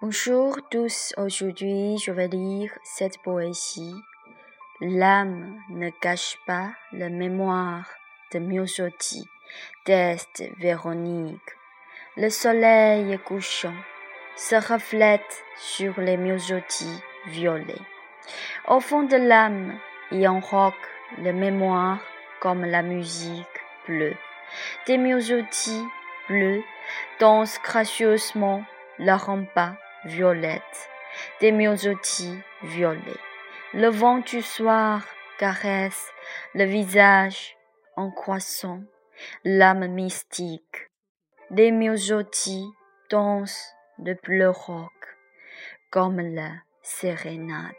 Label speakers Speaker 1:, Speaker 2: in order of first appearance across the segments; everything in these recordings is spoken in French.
Speaker 1: Bonjour tous, aujourd'hui je vais lire cette poésie. L'âme ne cache pas la mémoire de Myosotis, d'Est Véronique. Le soleil couchant se reflète sur les myosotis violets. Au fond de l'âme, il enroque la mémoire comme la musique bleue. Des myosotis bleus dansent gracieusement la rampa violette, des myosotis violets. Le vent du soir caresse le visage en croissant, l'âme mystique. Des myosotis dansent le bleu roc, comme la sérénade.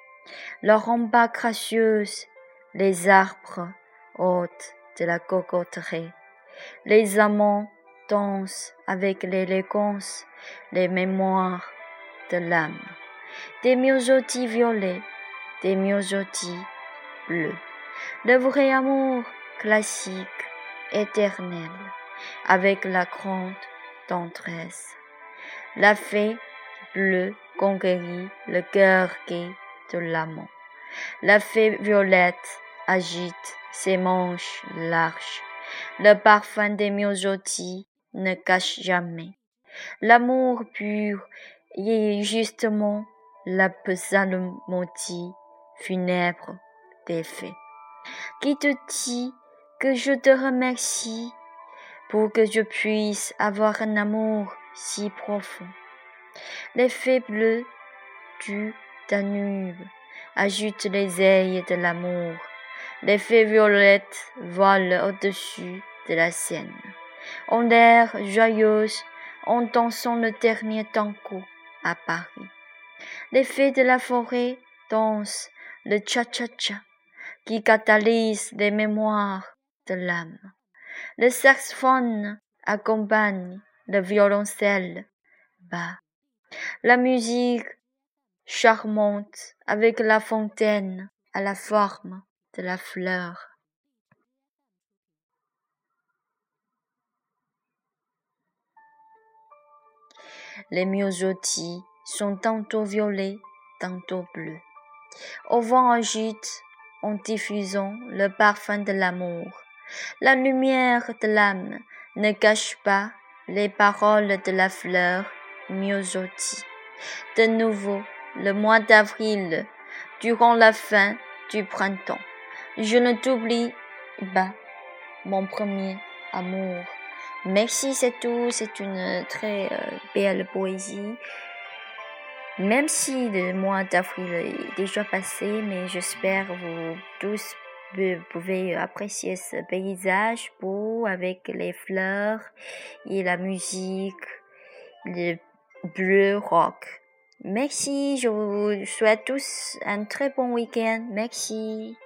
Speaker 1: La rampa gracieuse, les arbres hôtes de la cocoterie. Les amants dansent avec l'élégance, les mémoires de l'âme. Des myosotis violets, des myosotis bleus. Le vrai amour classique, éternel, avec la grande tendresse. La fée bleue conquérit le cœur gai de l'amant. La fée violette agite ses manches larges. Le parfum des myosotis ne cache jamais. L'amour pur est justement la psalmodie funèbre des fées, qui te dit que je te remercie pour que je puisse avoir un amour si profond. Les fées bleues du Danube agitent les ailes de l'amour. Les fées violettes volent au-dessus de la Seine. En l'air joyeuse, en dansant le dernier tango à Paris. Les fées de la forêt dansent le cha-cha-cha qui catalyse les mémoires de l'âme. Le saxophone accompagne le violoncelle bas. La musique charmante avec la fontaine à la forme de la fleur. Les myosotis sont tantôt violets, tantôt bleus. Au vent agite en diffusant le parfum de l'amour. La lumière de l'âme ne cache pas les paroles de la fleur myosotis. De nouveau, le mois d'avril, durant la fin du printemps, je ne t'oublie pas, mon premier amour. Merci, c'est tout. C'est une très belle poésie. Même si le mois d'avril est déjà passé, mais j'espère que vous tous pouvez apprécier ce paysage beau avec les fleurs et la musique, le bleu rock. Merci, je vous souhaite tous un très bon week-end. Merci.